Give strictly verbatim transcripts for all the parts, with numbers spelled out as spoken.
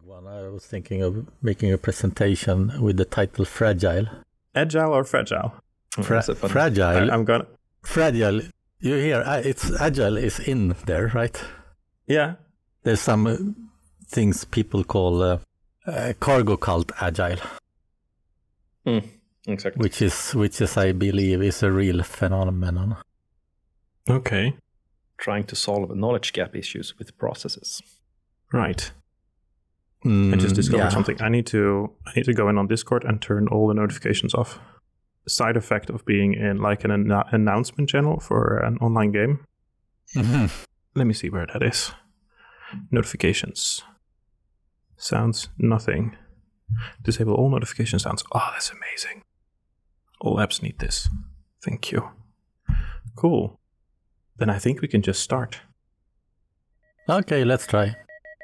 one. I was thinking of making a presentation with the title Fragile. Agile or fragile? Fra- fragile. I, I'm gonna. Fragile. You hear? Uh, it's agile is in there, right? Yeah. There's some uh, things people call uh, uh, cargo cult agile. Mm, exactly. Which is, which is, I believe, is a real phenomenon. Okay. Trying to solve knowledge gap issues with processes. Right. Mm, I just discovered yeah. something. I need to I need to go in on Discord and turn all the notifications off. Side effect of being in like an an- announcement channel for an online game. Mm-hmm. Let me see where that is. Notifications. Sounds nothing. Disable all notification sounds. Oh, that's amazing. All apps need this. Thank you. Cool. Then I think we can just start. Okay, let's try.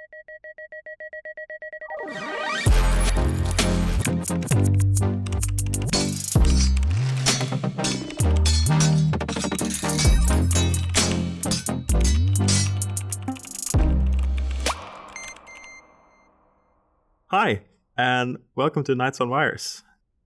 Hi, and welcome to Nights on Wires.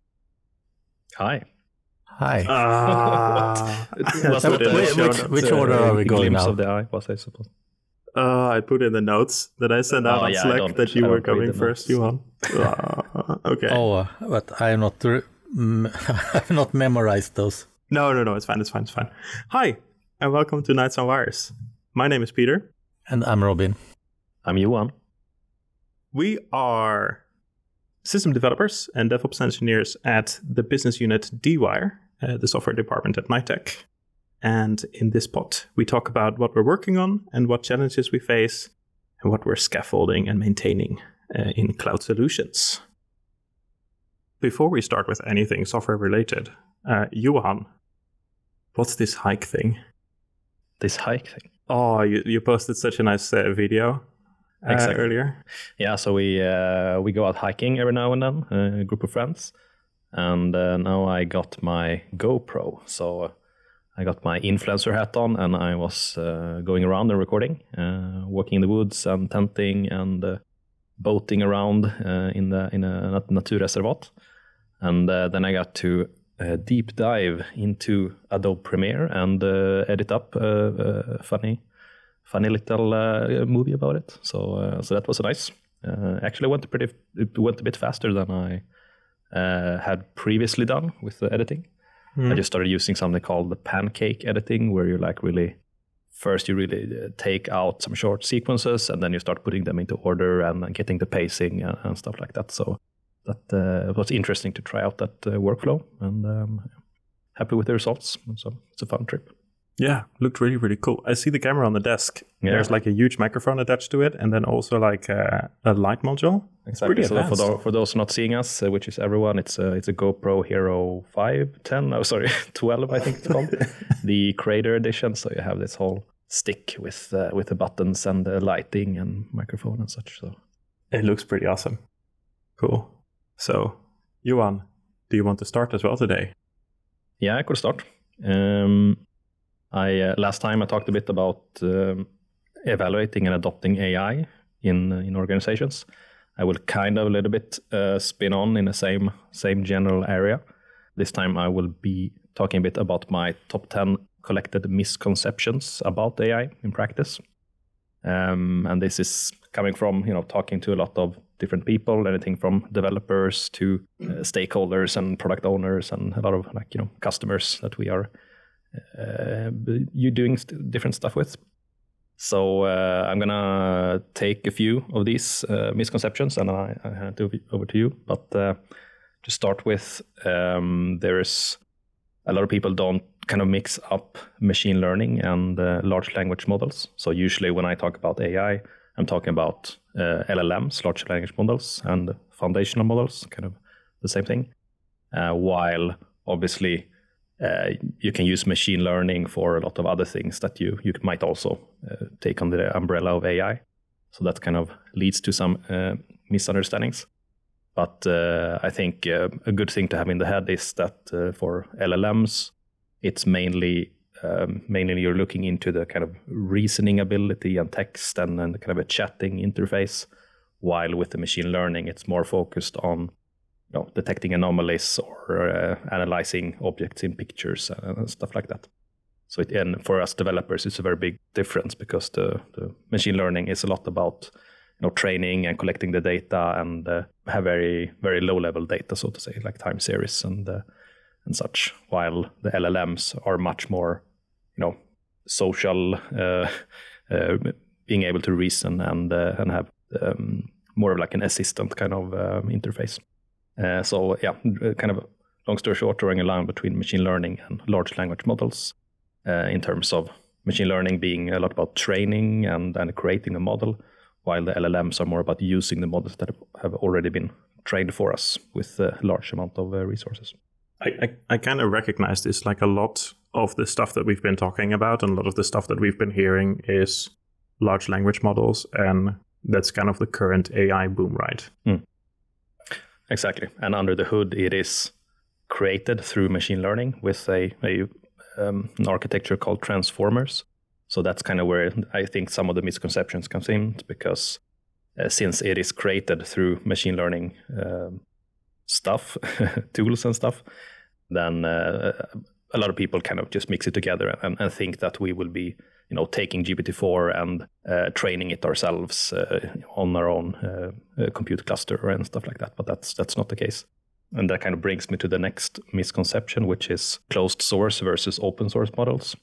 Hi. Hi. Ah, Was Put it in the which- show which- notes. which order are we a going glimpse now? of the eye, was I suppose? Uh, I put in the notes that I sent out Oh, on yeah, I Slack don't- that you I were don't read coming the first, notes. Johan. Ah, okay. Oh, uh, but I have not, re- mm, I've not memorized those. No, no, no, it's fine, it's fine, it's fine. Hi, and welcome to Nights on Wires. My name is Peter. And I'm Robin. I'm Johan. We are system developers and DevOps engineers at the business unit D-Wire, uh, the software department at Nitec. And in this pod, we talk about what we're working on and what challenges we face and what we're scaffolding and maintaining uh, in cloud solutions. Before we start with anything software related, uh, Johan, what's this hike thing? This hike thing. Oh, you, you posted such a nice uh, video uh, Exactly. earlier. Yeah, so we uh, we go out hiking every now and then, uh, a group of friends. And uh, now I got my GoPro. So uh, I got my influencer hat on and I was uh, going around and recording, uh, walking in the woods and tenting and uh, boating around uh, in the in a nat- naturreservat. And uh, then I got to uh, deep dive into Adobe Premiere and uh, edit up a, a funny, funny little uh, movie about it. So uh, so that was nice. Uh, actually, went pretty. It went a bit faster than I uh, had previously done with the editing. Hmm. I just started using something called the pancake editing, where you like really first you really uh, take out some short sequences and then you start putting them into order and uh, getting the pacing and, and stuff like that. So that uh, was interesting to try out that uh, workflow, and um, happy with the results. So it's a fun trip. Yeah, looked really, really cool. I see the camera on the desk. Yeah. There's like a huge microphone attached to it, and then also like a, a light module. It's pretty So for, advanced. tho- for those not seeing us, uh, which is everyone, it's a it's a GoPro Hero five, ten, oh sorry, twelve, I think it's called, the Creator Edition. So you have this whole stick with uh, with the buttons and the lighting and microphone and such. So It looks pretty awesome. Cool. So, Johan, do you want to start as well today? yeah, I could start. Um, I uh, last time I talked a bit about um, evaluating and adopting A I in uh, in organizations. I will kind of a little bit uh, spin on in the same same general area. This time I will be talking a bit about my top ten collected misconceptions about A I in practice. Um, and this is coming from, you know, talking to a lot of different people, anything from developers to uh, stakeholders and product owners and a lot of like, you know, customers that we are uh, you doing st- different stuff with. So uh, I'm gonna take a few of these uh, misconceptions and I, I hand it over to you. But uh, to start with, um, there's a lot of people don't kind of mix up machine learning and uh, large language models. So usually when I talk about A I, I'm talking about uh, L L Ms, large language models, and foundational models, kind of the same thing. Uh, while obviously uh, you can use machine learning for a lot of other things that you, you might also uh, take under the umbrella of A I. So that kind of leads to some uh, misunderstandings. But uh, I think uh, a good thing to have in the head is that uh, for L L Ms, it's mainly um, mainly you're looking into the kind of reasoning ability and text and, and kind of a chatting interface, while with the machine learning, it's more focused on, you know, detecting anomalies or uh, analyzing objects in pictures and stuff like that. So it, and for us developers, it's a very big difference because the, the machine learning is a lot about, you know, training and collecting the data and uh, have very, very low level data, so to say, like time series and uh, and such, while the L L Ms are much more, you know, social, uh, uh, being able to reason and uh, and have um, more of like an assistant kind of um, interface. Uh, so yeah, kind of long story short, drawing a line between machine learning and large language models uh, in terms of machine learning being a lot about training and, and creating a model, while the L L Ms are more about using the models that have already been trained for us with a large amount of uh, resources. I, I, I kind of recognize this, like a lot of the stuff that we've been talking about and a lot of the stuff that we've been hearing is large language models, and that's kind of the current A I boom, right? Mm. Exactly. And under the hood, it is created through machine learning with a, a um, an architecture called transformers. So that's kind of where I think some of the misconceptions comes in, because uh, since it is created through machine learning um, stuff, tools and stuff, then uh, a lot of people kind of just mix it together and, and think that we will be, you know, taking G P T four and uh, training it ourselves uh, on our own uh, uh, compute cluster and stuff like that. But that's that's not the case. And that kind of brings me to the next misconception, which is closed source versus open source models.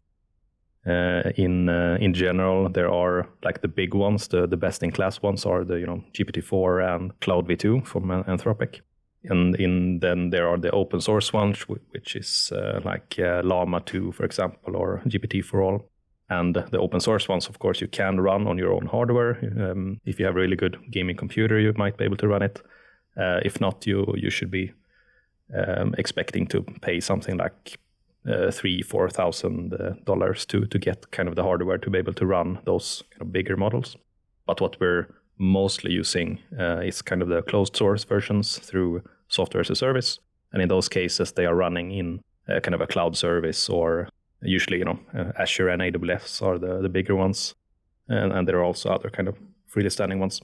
Uh, in uh, in general, there are like the big ones, the, the best in class ones are the, you know, G P T four and Cloud V two from Anthropic. And in then there are the open source ones, which is uh, like uh, Llama two, for example, or G P T for all. And the open source ones, of course, you can run on your own hardware. Um, if you have a really good gaming computer, you might be able to run it. Uh, if not, you you should be um, expecting to pay something like uh, three, four thousand uh, dollars to to get kind of the hardware to be able to run those kind of bigger models. But what we're mostly using uh, is kind of the closed source versions through software as a service, and in those cases, they are running in uh, kind of a cloud service, or usually, you know, uh, Azure and A W S are the, the bigger ones, and, and there are also other kind of freely standing ones.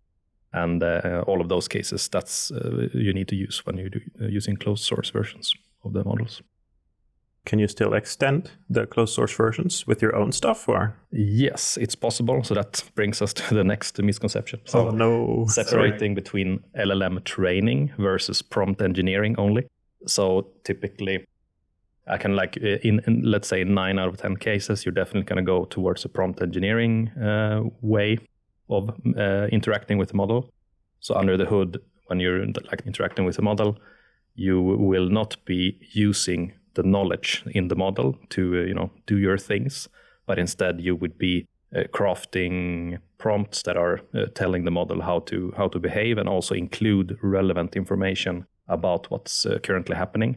And uh, all of those cases, that's uh, you need to use when you're do, uh, using closed source versions of the models. Can you still extend the closed source versions with your own stuff, or? Yes, it's possible. So that brings us to the next misconception. So oh no! Separating Sorry. between L L M training versus prompt engineering only. So typically, I can like in, in let's say nine out of ten cases, you're definitely going to go towards a prompt engineering uh, way of uh, interacting with the model. So under the hood, when you're like interacting with the model, you will not be using the knowledge in the model to uh, you know do your things, but instead you would be uh, crafting prompts that are uh, telling the model how to how to behave, and also include relevant information about what's uh, currently happening.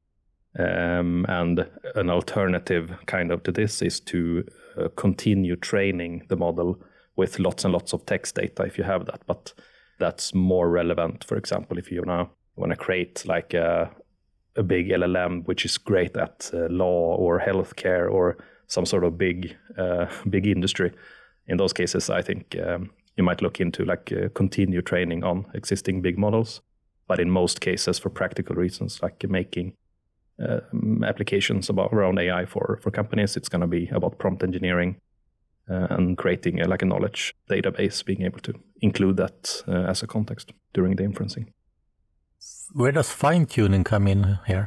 Um, and an alternative kind of to this is to uh, continue training the model with lots and lots of text data if you have that. But that's more relevant, for example, if you now want to create like a, a big L L M which is great at uh, law or healthcare or some sort of big uh, big industry. In those cases, I think um, you might look into like uh, continue training on existing big models. But in most cases, for practical reasons, like making Um, applications about around A I for, for companies, it's going to be about prompt engineering uh, and creating a, like a knowledge database, being able to include that uh, as a context during the inferencing. Where does fine-tuning come in here?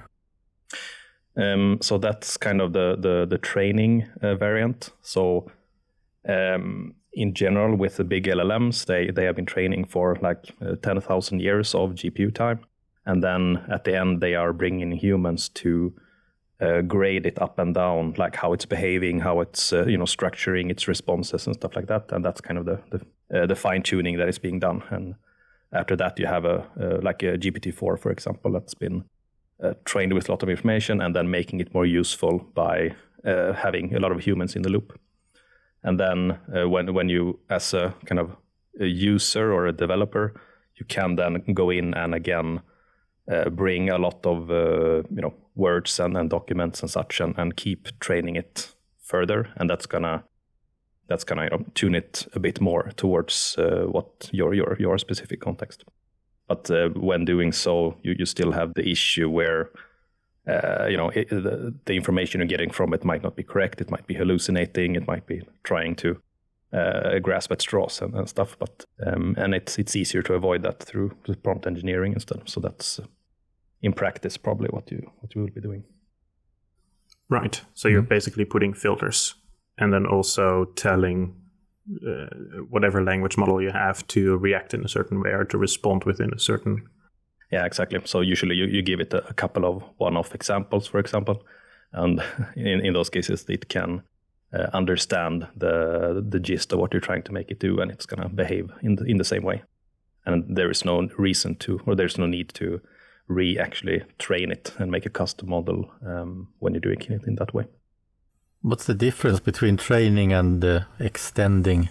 Um, so that's kind of the the, the training uh, variant. So um, in general, with the big L L Ms, they, they have been training for like uh, ten thousand years of G P U time. And then at the end, they are bringing humans to uh, grade it up and down, like how it's behaving, how it's uh, you know structuring its responses and stuff like that. And that's kind of the the, uh, the fine tuning that is being done. And after that, you have a uh, like a G P T four, for example, that's been uh, trained with a lot of information and then making it more useful by uh, having a lot of humans in the loop. And then uh, when when you, as a kind of a user or a developer, you can then go in and again Uh, bring a lot of uh, you know words and, and documents and such, and, and keep training it further, and that's gonna that's kind of, you know, tune it a bit more towards uh, what your your your specific context. But uh, when doing so, you, you still have the issue where uh, you know it, the, the information you're getting from it might not be correct. It might be hallucinating. It might be trying to uh, grasp at straws and, and stuff. But um, and it's it's easier to avoid that through prompt engineering instead. So that's uh, in practice probably what you what you will be doing. Right. So you're basically putting filters and then also telling uh, whatever language model you have to react in a certain way or to respond within a certain... Yeah, exactly. So usually you, you give it a, a couple of one-off examples, for example. And in, in those cases, it can uh, understand the the gist of what you're trying to make it do, and it's going to behave in the, in the same way. And there is no reason to, or there's no need to re-actually train it and make a custom model um, when you're doing it in that way. What's the difference between training and uh, extending?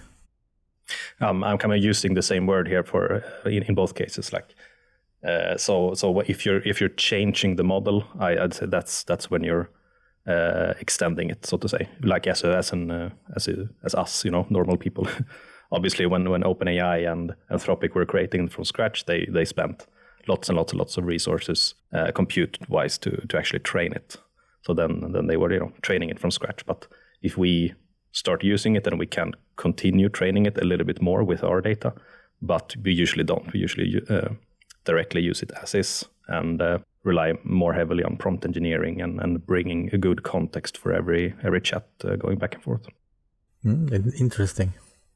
Um, I'm kind of using the same word here for uh, in, in both cases. Like, uh, so so if you're if you're changing the model, I, I'd say that's that's when you're uh, extending it, so to say. Like as a, as an uh, as a, as us, you know, normal people. Obviously, when when OpenAI and Anthropic were creating from scratch, they they spent lots and lots and lots of resources, uh, compute-wise, to to actually train it. So then then they were, you know, training it from scratch. But if we start using it, then we can continue training it a little bit more with our data. But we usually don't. We usually uh, directly use it as is and uh, rely more heavily on prompt engineering and, and bringing a good context for every every chat uh, going back and forth. Mm, interesting.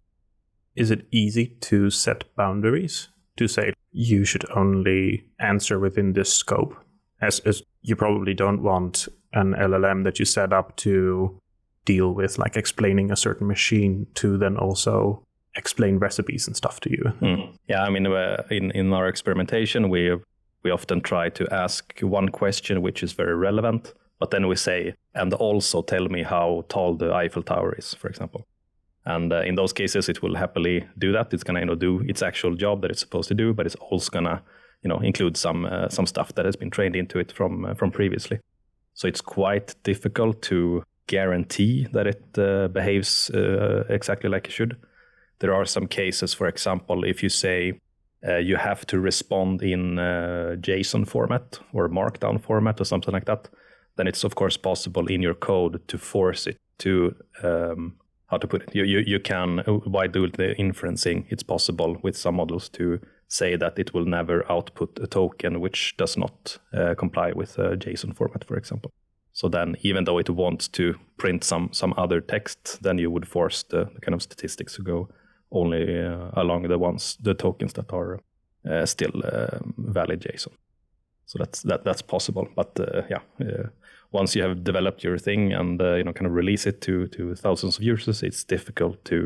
Is it easy to set boundaries? To say you should only answer within this scope, as, as you probably don't want an L L M that you set up to deal with like explaining a certain machine to then also explain recipes and stuff to you. Mm. Yeah, I mean, uh, in in our experimentation, we we often try to ask one question which is very relevant, but then we say, and also tell me how tall the Eiffel Tower is, for example. And uh, in those cases, it will happily do that. It's gonna, you know, do its actual job that it's supposed to do, but it's also gonna, you know, include some uh, some stuff that has been trained into it from uh, from previously. So it's quite difficult to guarantee that it uh, behaves uh, exactly like it should. There are some cases, for example, if you say uh, you have to respond in uh, JSON format or Markdown format or something like that, then it's of course possible in your code to force it to. Um, How to put it? You you you can, by doing the inferencing, it's possible with some models to say that it will never output a token which does not uh, comply with a JSON format, for example. So then, even though it wants to print some some other text, then you would force the, the kind of statistics to go only uh, along the ones the tokens that are uh, still uh, valid JSON. So that's that that's possible, but uh, yeah. Uh, Once you have developed your thing and uh, you know kind of release it to to thousands of users, it's difficult to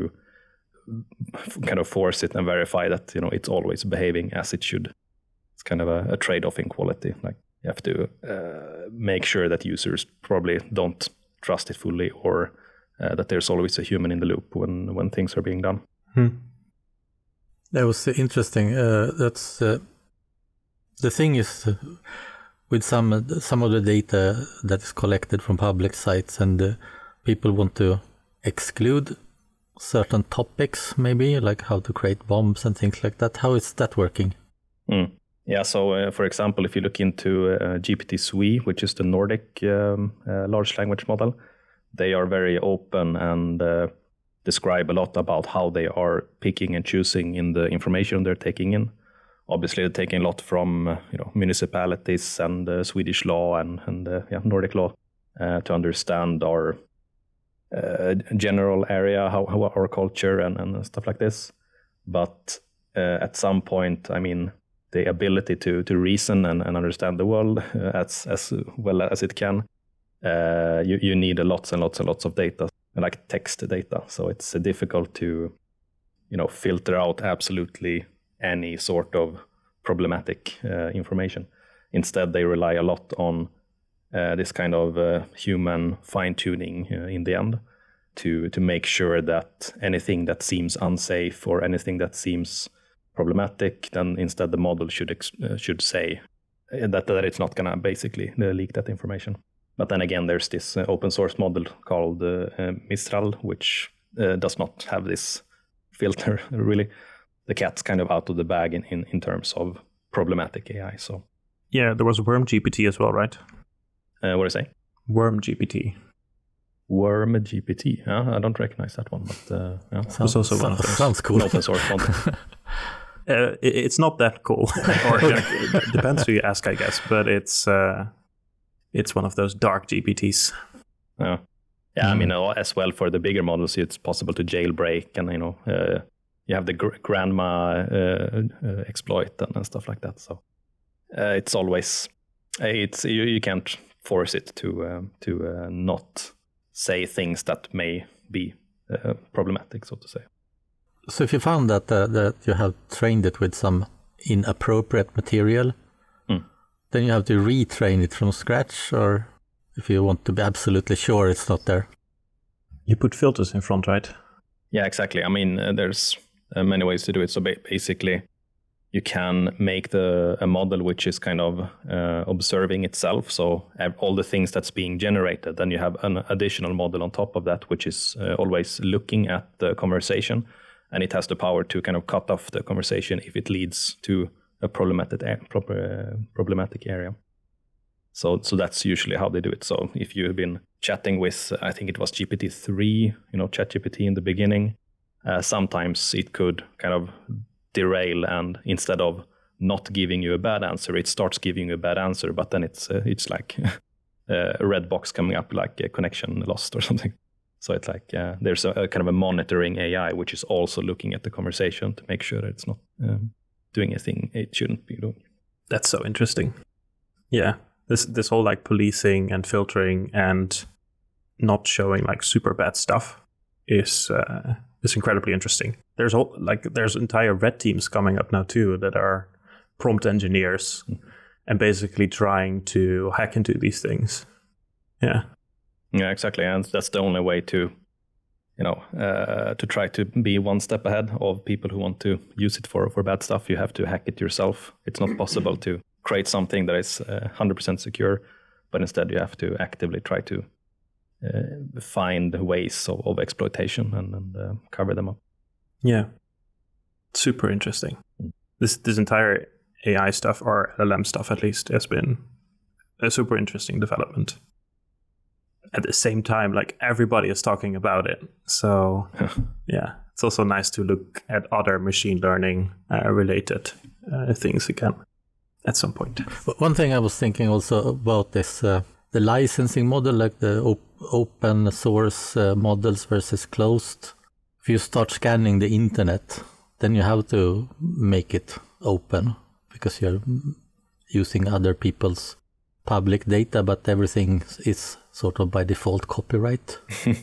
kind of force it and verify that, you know, it's always behaving as it should. It's kind of a, a trade-off in quality. Like you have to uh, make sure that users probably don't trust it fully, or uh, that there's always a human in the loop when when things are being done. Hmm. That was interesting. Uh, that's uh, the thing is. Uh, With some some of the data that is collected from public sites, and uh, people want to exclude certain topics, maybe like how to create bombs and things like that. How is that working? Mm. Yeah, so uh, for example, if you look into uh, G P T S W E, which is the Nordic um, uh, large language model, they are very open and uh, describe a lot about how they are picking and choosing in the information they're taking in. Obviously, they're taking a lot from uh, you know municipalities and uh, Swedish law and and uh, yeah, Nordic law uh, to understand our uh, general area, how, how our culture and, and stuff like this. But uh, at some point, I mean, the ability to to reason and, and understand the world uh, as as well as it can, uh, you you need a lots and lots and lots of data, like text data. So it's uh, difficult to you know filter out absolutely any sort of problematic uh, information. Instead, they rely a lot on uh, this kind of uh, human fine-tuning uh, in the end to to make sure that anything that seems unsafe or anything that seems problematic, then instead the model should ex- uh, should say that, that it's not gonna basically uh, leak that information. But then again, there's this uh, open source model called uh, uh, Mistral, which uh, does not have this filter. Really, the cat's kind of out of the bag in, in, in terms of problematic A I. So yeah, there was Worm G P T as well, right? Uh, what do you say? Worm G P T. Worm G P T. Yeah, I don't recognize that one, but uh, yeah. Sounds, also one sounds, of those. sounds cool. Open source content. Uh, it, it's not that cool. Or like, it depends who you ask, I guess. But it's uh, it's one of those dark G P Ts. Yeah, yeah. Mm. I mean, uh, as well for the bigger models, it's possible to jailbreak, and you know, uh, you have the gr- grandma uh, uh, exploit and, and stuff like that. So uh, it's always it's you, you can't force it to um, to uh, not say things that may be uh, problematic, so to say. So if you found that uh, that you have trained it with some inappropriate material, mm. then you have to retrain it from scratch, or if you want to be absolutely sure it's not there. You put filters in front, right? Yeah, exactly. I mean, uh, there's uh, many ways to do it. So ba- basically, you can make the a model which is kind of uh, observing itself. So all the things that's being generated, then you have an additional model on top of that, which is uh, always looking at the conversation. And it has the power to kind of cut off the conversation if it leads to a problematic proper, uh, problematic area. So, so that's usually how they do it. So, if you've been chatting with, I think it was G P T three, you know, ChatGPT in the beginning, uh, sometimes it could kind of derail, and instead of not giving you a bad answer, it starts giving you a bad answer. But then it's uh, it's like a red box coming up, like a connection lost or something. So it's like uh, there's a, a kind of a monitoring A I, which is also looking at the conversation to make sure that it's not um, doing anything it shouldn't be doing. That's so interesting. Yeah, this this whole like policing and filtering and not showing like super bad stuff is uh, is incredibly interesting. There's all, like there's entire red teams coming up now too that are prompt engineers mm. and basically trying to hack into these things. Yeah. Yeah, exactly, and that's the only way to, you know, uh, to try to be one step ahead of people who want to use it for, for bad stuff. You have to hack it yourself. It's not possible to create something that is uh, one hundred percent secure, but instead you have to actively try to uh, find ways of, of exploitation and, and uh, cover them up. Yeah, super interesting. Mm. This this entire A I stuff, or L L M stuff at least, has been a super interesting development. At the same time, like everybody is talking about it. So yeah, it's also nice to look at other machine learning uh, related uh, things again at some point. One thing I was thinking also about is uh, the licensing model, like the op- open source uh, models versus closed. If you start scanning the internet, then you have to make it open because you're using other people's public data, but everything is sort of by default copyright.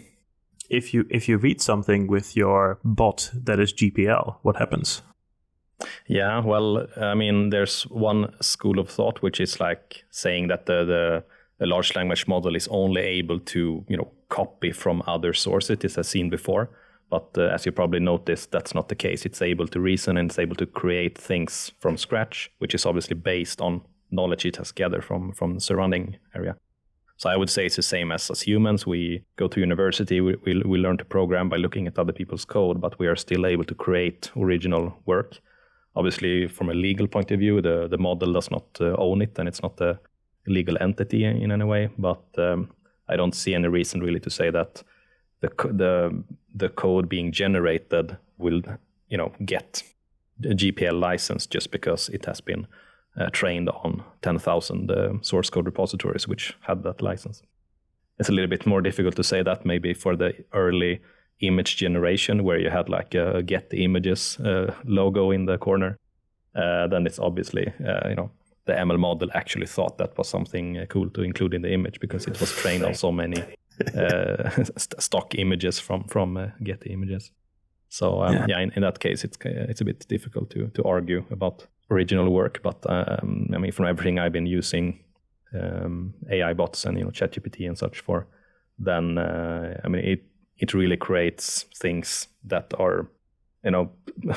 If you if you read something with your bot that is G P L, what happens? Yeah, well, I mean, there's one school of thought which is like saying that the the, the large language model is only able to, you know, copy from other sources it has seen before. But uh, as you probably noticed, that's not the case. It's able to reason and it's able to create things from scratch, which is obviously based on knowledge it has gathered from from the surrounding area. So I would say it's the same as as humans. We go to university, we, we we learn to program by looking at other people's code, but we are still able to create original work. Obviously, from a legal point of view, the, the model does not uh, own it, and it's not a legal entity in, in any way. But um, I don't see any reason really to say that the the the code being generated will, you know, get a G P L license just because it has been Uh, trained on ten thousand uh, source code repositories which had that license. It's a little bit more difficult to say that maybe for the early image generation where you had like a get the images uh, logo in the corner. Uh, then it's obviously, uh, you know, the M L model actually thought that was something uh, cool to include in the image because it was trained on so many uh, st- stock images from, from uh, get the images. So um, yeah, yeah in, in that case, it's it's a bit difficult to to argue about original work, but um, I mean, from everything I've been using um, A I bots and, you know, ChatGPT and such for, then uh, I mean, it it really creates things that are, you know,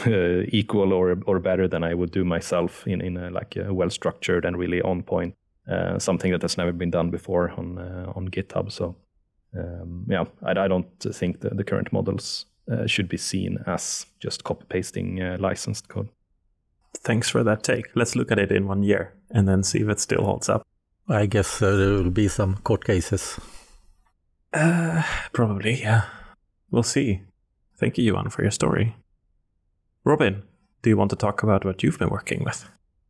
equal or or better than I would do myself in in a, like a well structured and really on point uh, something that has never been done before on uh, on GitHub. So um, yeah, I, I don't think the, the current models uh, should be seen as just copy pasting uh, licensed code. Thanks for that take. Let's look at it in one year and then see if it still holds up. I guess uh, there will be some court cases. Uh, probably, yeah. We'll see. Thank you, Johan, for your story. Robin, do you want to talk about what you've been working with?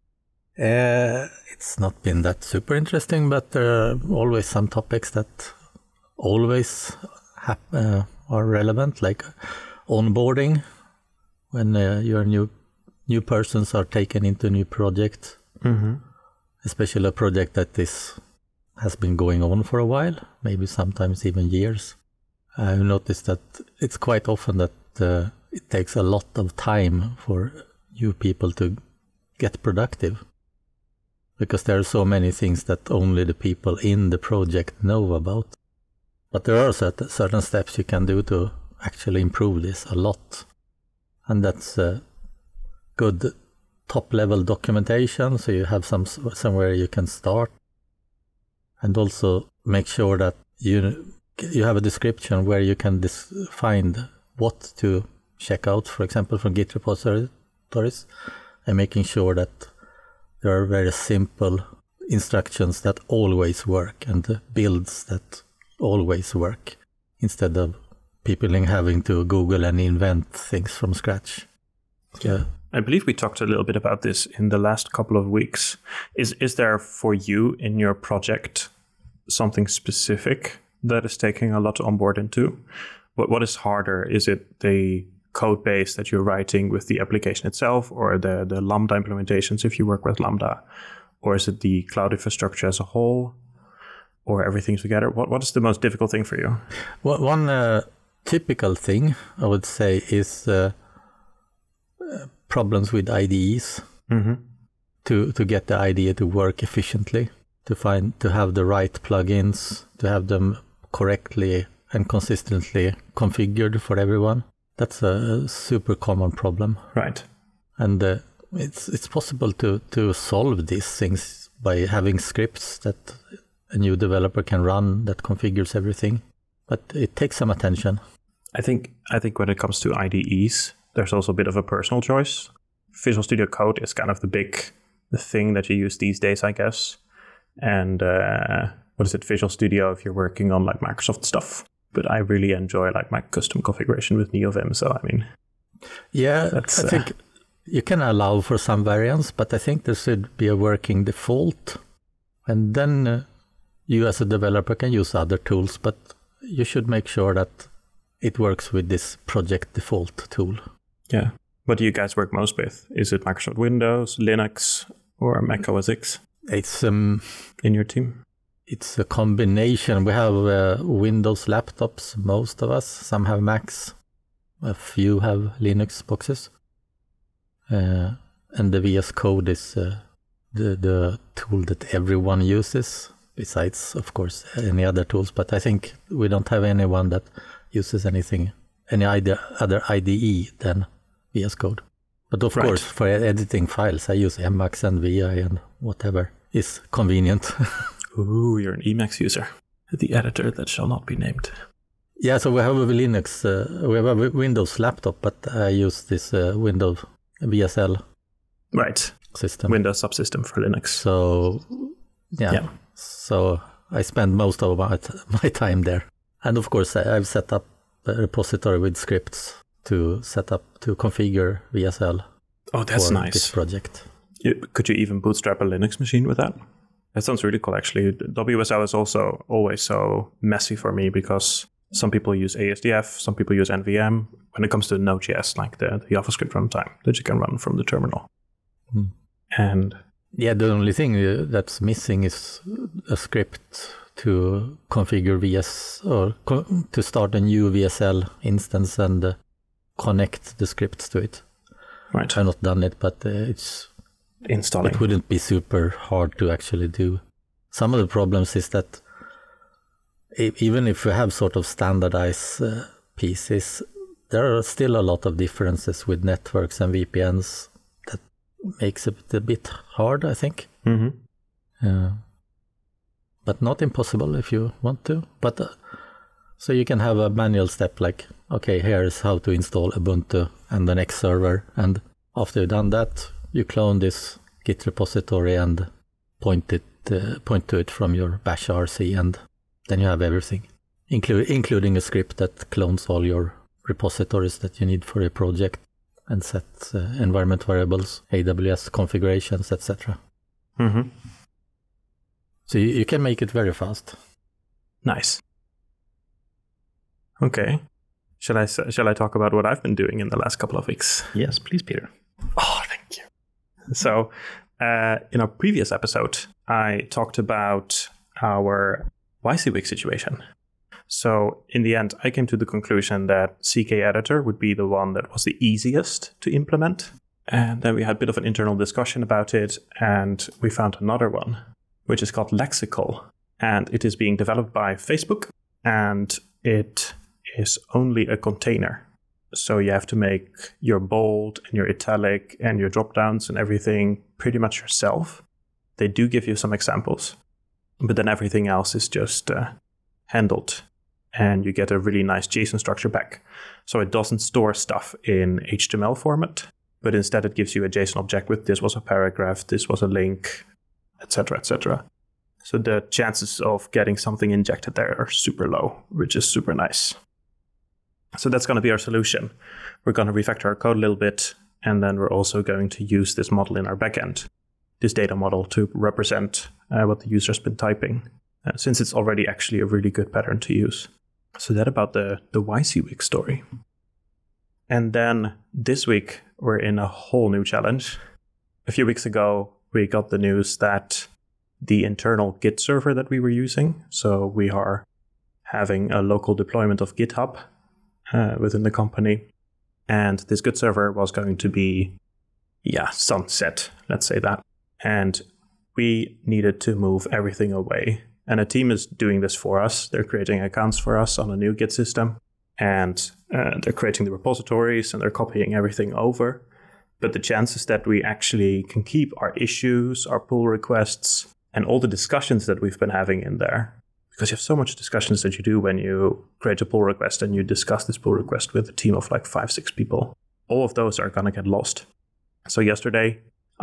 Uh, it's not been that super interesting, but there are always some topics that always hap- uh, are relevant, like onboarding, when uh, your new new persons are taken into a new project, mm-hmm. especially a project that is has been going on for a while, maybe sometimes even years. I've noticed that it's quite often that uh, it takes a lot of time for new people to get productive, because there are so many things that only the people in the project know about. But there are certain, certain steps you can do to actually improve this a lot. And that's uh, good top-level documentation, so you have some somewhere you can start. And also make sure that you you have a description where you can dis- find what to check out, for example, from Git repositories, and making sure that there are very simple instructions that always work and builds that always work, instead of people having to Google and invent things from scratch. Yeah. I believe we talked a little bit about this in the last couple of weeks. Is is there for you in your project something specific that is taking a lot on board into? What what is harder? Is it the code base that you're writing with the application itself, or the, the Lambda implementations if you work with Lambda? Or is it the cloud infrastructure as a whole, or everything together? What What is the most difficult thing for you? Well, one uh, typical thing I would say is uh, uh, problems with I D Es, mm-hmm. to, to get the idea to work efficiently, to find to have the right plugins, to have them correctly and consistently configured for everyone. That's a super common problem. Right. And uh, it's it's possible to, to solve these things by having scripts that a new developer can run that configures everything. But it takes some attention. I think I think when it comes to I D Es, there's also a bit of a personal choice. Visual Studio Code is kind of the big the thing that you use these days, I guess. And uh, what is it, Visual Studio if you're working on like Microsoft stuff. But I really enjoy like my custom configuration with NeoVim. So I mean, yeah, I think uh, you can allow for some variants, but I think there should be a working default, and then uh, you as a developer can use other tools. But you should make sure that it works with this project default tool. Yeah. What do you guys work most with? Is it Microsoft Windows, Linux, or Mac O S X? It's um, in your team. It's a combination. We have uh, Windows laptops, most of us. Some have Macs. A few have Linux boxes. Uh, and the V S Code is uh, the, the tool that everyone uses, besides, of course, any other tools. But I think we don't have anyone that uses anything, any idea, other I D E than V S Code. But of right. course, for editing files, I use Emacs and V I and whatever is convenient. Ooh, you're an Emacs user. The editor that shall not be named. Yeah, so we have a Linux, uh, we have a Windows laptop, but I use this uh, Windows V S L right. system. Windows subsystem for Linux. So, yeah. yeah. So I spend most of my, t- my time there. And of course, I, I've set up a repository with scripts to set up, to configure V S L. Oh, that's for nice. This project. You, could you even bootstrap a Linux machine with that? That sounds really cool, actually. W S L is also always so messy for me because some people use A S D F, some people use N V M. When it comes to Node.js, like the, the JavaScript runtime that you can run from the terminal. Hmm. And yeah, the only thing that's missing is a script to configure V S or co- to start a new V S L instance and uh, connect the scripts to it. Right. I've not done it, but uh, it's installing. It wouldn't be super hard to actually do. Some of the problems is that even if we have sort of standardized uh, pieces, there are still a lot of differences with networks and V P Ns that makes it a bit hard, I think. Mm-hmm. Uh, but not impossible if you want to. But uh, So you can have a manual step like, okay, here's how to install Ubuntu and the next server. And after you've done that, you clone this Git repository and point it, uh, point to it from your bash R C, and then you have everything, inclu- including a script that clones all your repositories that you need for your project and sets uh, environment variables, A W S configurations, et cetera. Mm-hmm. So you, you can make it very fast. Nice. Okay. Shall I shall I talk about what I've been doing in the last couple of weeks? Yes, please, Peter. Oh, thank you. So, uh, in our previous episode, I talked about our Y C Week situation. So, in the end, I came to the conclusion that C K Editor would be the one that was the easiest to implement. And then we had a bit of an internal discussion about it, and we found another one, which is called Lexical. And it is being developed by Facebook, and it is only a container. So you have to make your bold and your italic and your dropdowns and everything pretty much yourself. They do give you some examples, but then everything else is just uh, handled, and you get a really nice JSON structure back. So it doesn't store stuff in H T M L format, but instead it gives you a JSON object with this was a paragraph, this was a link, et cetera, et cetera. So the chances of getting something injected there are super low, which is super nice. So that's going to be our solution. We're going to refactor our code a little bit, and then we're also going to use this model in our backend, this data model, to represent uh, what the user's been typing, uh, since it's already actually a really good pattern to use. So that about the, the Y C Week story. And then this week, we're in a whole new challenge. A few weeks ago, we got the news that the internal Git server that we were using, so we are having a local deployment of GitHub uh, within the company, and this Git server was going to be, yeah, sunset, let's say that. And we needed to move everything away. And a team is doing this for us. They're creating accounts for us on a new Git system, and uh, they're creating the repositories, and they're copying everything over. But the chances that we actually can keep our issues, our pull requests, and all the discussions that we've been having in there, because you have so much discussions that you do when you create a pull request and you discuss this pull request with a team of like five, six people, all of those are going to get lost. So yesterday,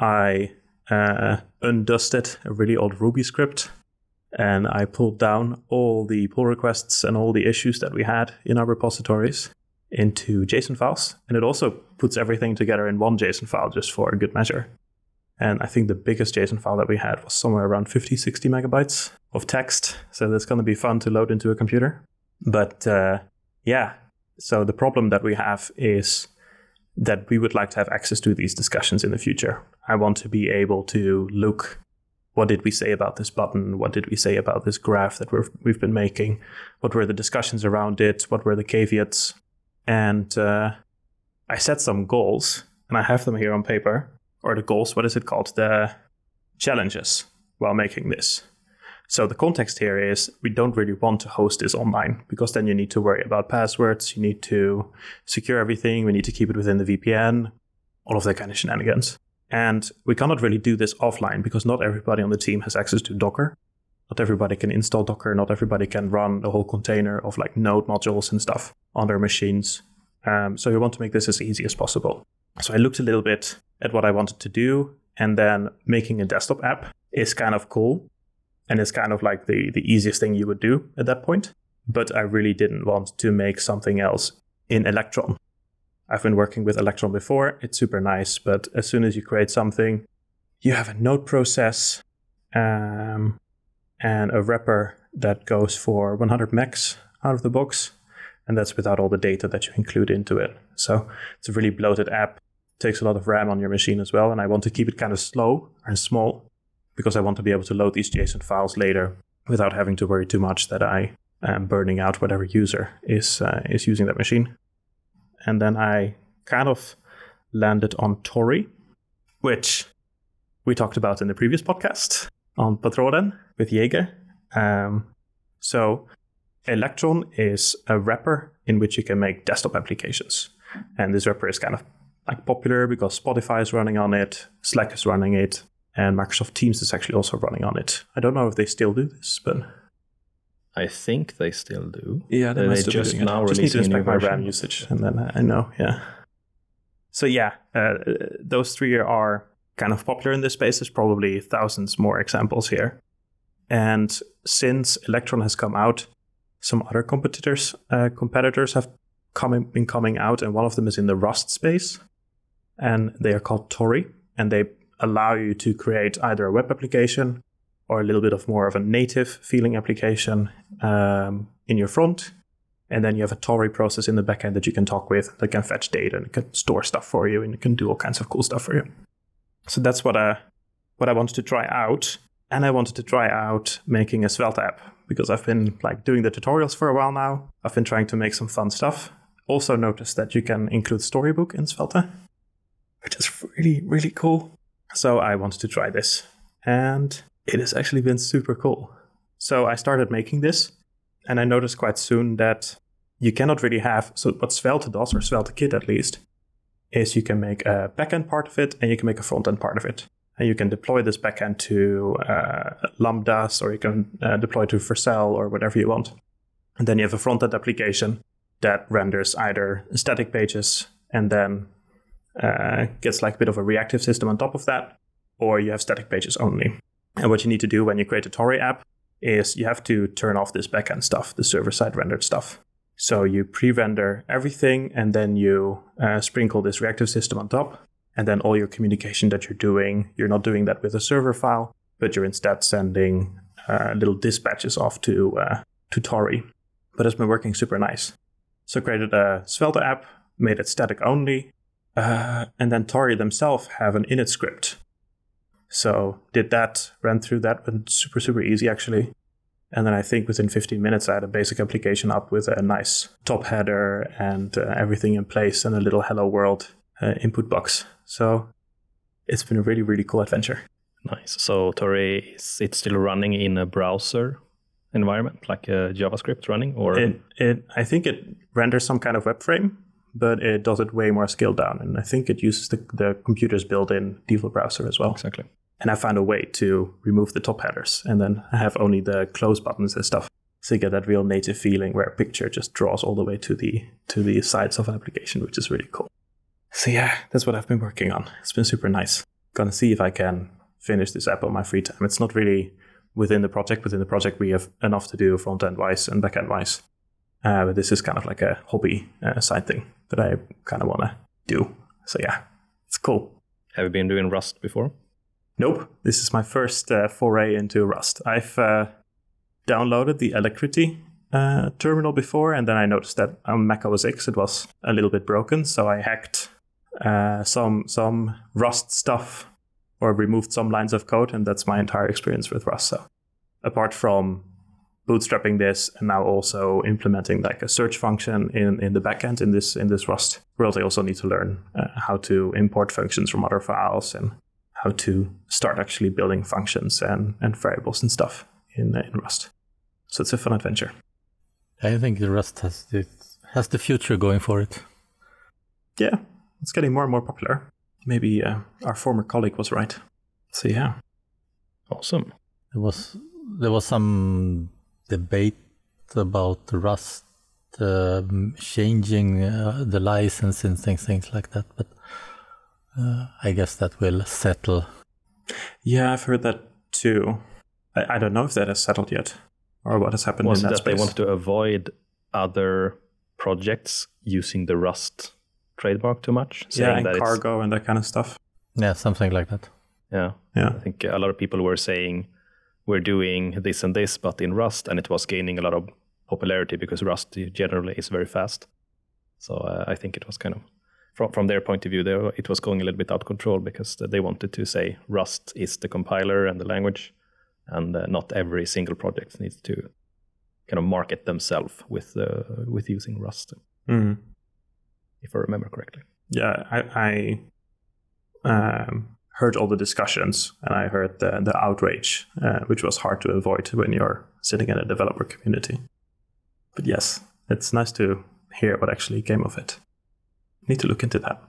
I uh, undusted a really old Ruby script, and I pulled down all the pull requests and all the issues that we had in our repositories into JSON files. And it also puts everything together in one JSON file just for a good measure. And I think the biggest JSON file that we had was somewhere around fifty, sixty megabytes of text. So that's going to be fun to load into a computer. But uh, yeah, so the problem that we have is that we would like to have access to these discussions in the future. I want to be able to look, what did we say about this button? What did we say about this graph that we're, we've been making? What were the discussions around it? What were the caveats? And uh, I set some goals, and I have them here on paper. Or the goals, what is it called? The challenges while making this. So the context here is we don't really want to host this online, because then you need to worry about passwords, you need to secure everything, we need to keep it within the V P N, all of that kind of shenanigans. And we cannot really do this offline, because not everybody on the team has access to Docker. Not everybody can install Docker, not everybody can run the whole container of like node modules and stuff on their machines. Um, so we want to make this as easy as possible. So I looked a little bit at what I wanted to do, and then making a desktop app is kind of cool. And it's kind of like the, the easiest thing you would do at that point. But I really didn't want to make something else in Electron. I've been working with Electron before. It's super nice. But as soon as you create something, you have a node process um, and a wrapper that goes for one hundred megs out of the box. And that's without all the data that you include into it. So it's a really bloated app. It takes a lot of RAM on your machine as well. And I want to keep it kind of slow and small, because I want to be able to load these JSON files later without having to worry too much that I am burning out whatever user is uh, is using that machine. And then I kind of landed on Tori, which we talked about in the previous podcast on Patronen with Jäger. Um, so Electron is a wrapper in which you can make desktop applications. And this wrapper is kind of like popular because Spotify is running on it, Slack is running it, and Microsoft Teams is actually also running on it. I don't know if they still do this, but I think they still do. Yeah, they, they must just be now just need to releasing a new inspect my version. RAM usage, and then I know. Yeah. So yeah, uh, those three are kind of popular in this space. There's probably thousands more examples here. And since Electron has come out, some other competitors uh, competitors have come, been coming out, and one of them is in the Rust space, and they are called Tori, and they allow you to create either a web application or a little bit of more of a native feeling application um, in your front. And then you have a Tori process in the backend that you can talk with, that can fetch data and can store stuff for you, and it can do all kinds of cool stuff for you. So that's what I, what I wanted to try out. And I wanted to try out making a Svelte app, because I've been like doing the tutorials for a while now. I've been trying to make some fun stuff. Also noticed that you can include Storybook in Svelte, which is really, really cool. So I wanted to try this, and it has actually been super cool. So I started making this, and I noticed quite soon that you cannot really have, so what Svelte does, or Svelte Kit at least, is you can make a backend part of it, and you can make a front-end part of it. And you can deploy this backend to uh, Lambdas, or you can uh, deploy to Vercel, or whatever you want. And then you have a front-end application that renders either static pages and then uh, gets like a bit of a reactive system on top of that, or you have static pages only. And what you need to do when you create a Tori app is you have to turn off this backend stuff, the server-side rendered stuff. So you pre-render everything, and then you uh, sprinkle this reactive system on top. And then all your communication that you're doing, you're not doing that with a server file, but you're instead sending uh, little dispatches off to uh, to Tori. But it's been working super nice. So I created a Svelte app, made it static only, uh, and then Tori themselves have an init script. So did that, ran through that, went super, super easy actually. And then I think within fifteen minutes, I had a basic application up with a nice top header and uh, everything in place, and a little hello world uh, input box. So it's been a really, really cool adventure. Nice. So Tori, is it still running in a browser environment, like a JavaScript running? Or it, it, I think it renders some kind of web frame, but it does it way more scaled down. And I think it uses the, the computer's built-in default browser as well. Exactly. And I found a way to remove the top headers, and then I have only the close buttons and stuff. So you get that real native feeling where a picture just draws all the way to the to the sides of an application, which is really cool. So yeah, that's what I've been working on. It's been super nice. Gonna see if I can finish this app on my free time. It's not really within the project. Within the project, we have enough to do front-end wise and back-end wise. Uh, but this is kind of like a hobby uh, side thing that I kind of want to do. So yeah, it's cool. Have you been doing Rust before? Nope. This is my first uh, foray into Rust. I've uh, downloaded the Alacrity uh, terminal before, and then I noticed that on Mac O S X it was a little bit broken, so I hacked uh, some some Rust stuff, or removed some lines of code, and that's my entire experience with Rust. So apart from bootstrapping this and now also implementing like a search function in, in the backend in this in this Rust world, I also need to learn uh, how to import functions from other files, and how to start actually building functions and, and variables and stuff in, uh, in Rust. So it's a fun adventure. I think the Rust has the, has the future going for it. Yeah, it's getting more and more popular. Maybe uh, our former colleague was right. So yeah. Awesome. There was there was some debate about Rust uh, changing uh, the license and things, things like that, but Uh, I guess that will settle. Yeah, I've heard that too. I, I don't know if that has settled yet, or what has happened Was in that, that space. they wanted to avoid other projects using the Rust trademark too much? Yeah, and that cargo it's, and that kind of stuff. Yeah, something like that. Yeah, yeah. I think a lot of people were saying we're doing this and this, but in Rust, and it was gaining a lot of popularity because Rust generally is very fast. So uh, I think it was kind of, From, from their point of view, they, it was going a little bit out of control, because they wanted to say Rust is the compiler and the language, and uh, not every single project needs to kind of market themselves with uh, with using Rust, mm. if I remember correctly. Yeah, I, I um, heard all the discussions, and I heard the, the outrage, uh, which was hard to avoid when you're sitting in a developer community. But yes, it's nice to hear what actually came of it. Need to look into that.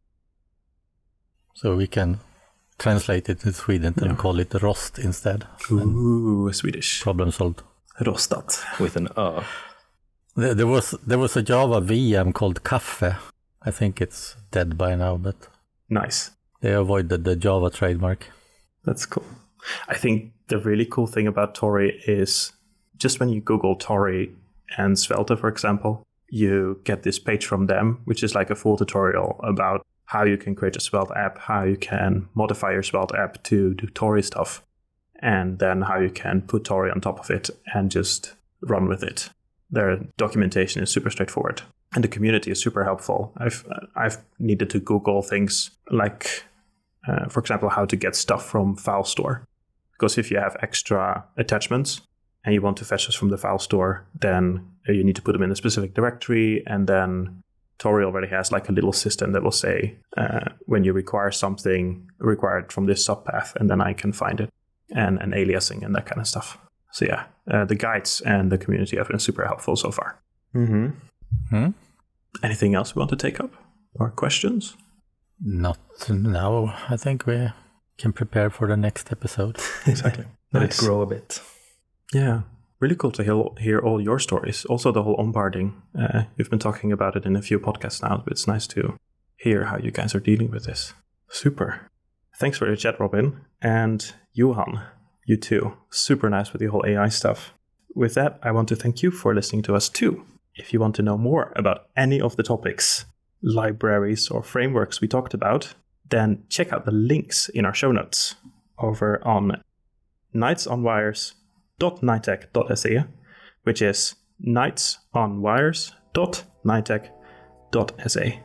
So we can translate it to Sweden and yeah. call it Rost instead. Ooh, Swedish. Problem solved. Rostat. with an ö. There, there was there was a Java V M called Kaffe. I think it's dead by now, but Nice. they avoided the Java trademark. That's cool. I think the really cool thing about Tori is just when you Google Tori and Svelte, for example, you get this page from them, which is like a full tutorial about how you can create a Svelte app, how you can modify your Svelte app to do Tori stuff, and then how you can put Tori on top of it and just run with it. Their documentation is super straightforward, and the community is super helpful. I've I've needed to Google things like, uh, for example, how to get stuff from FileStore, because if you have extra attachments and you want to fetch this from the file store, then you need to put them in a specific directory, and then Tori already has like a little system that will say uh, when you require something required from this subpath, and then I can find it, and, and aliasing and that kind of stuff. So yeah, uh, the guides and the community have been super helpful so far. Mm-hmm. Hmm? Anything else we want to take up? Or questions? Not now. I think we can prepare for the next episode. Exactly. Let Nice. it grow a bit. Yeah, really cool to hear, hear all your stories. Also the whole onboarding. Uh, you've been talking about it in a few podcasts now, but it's nice to hear how you guys are dealing with this. Super. Thanks for your chat, Robin. And Johan, you too. Super nice with the whole A I stuff. With that, I want to thank you for listening to us too. If you want to know more about any of the topics, libraries, or frameworks we talked about, then check out the links in our show notes over on knightsonwires dot nitec dot s e, which is knightsonwires dot nitec dot s e.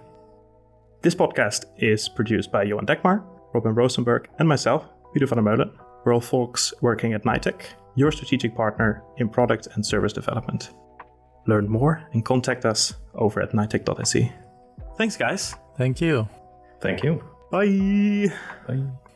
This podcast is produced by Johan Dekmar, Robin Rosenberg, and myself, Peter van der Meulen. We're all folks working at Nitec, your strategic partner in product and service development. Learn more and contact us over at nitec dot s e. Thanks, guys. Thank you. Thank you. Bye. Bye.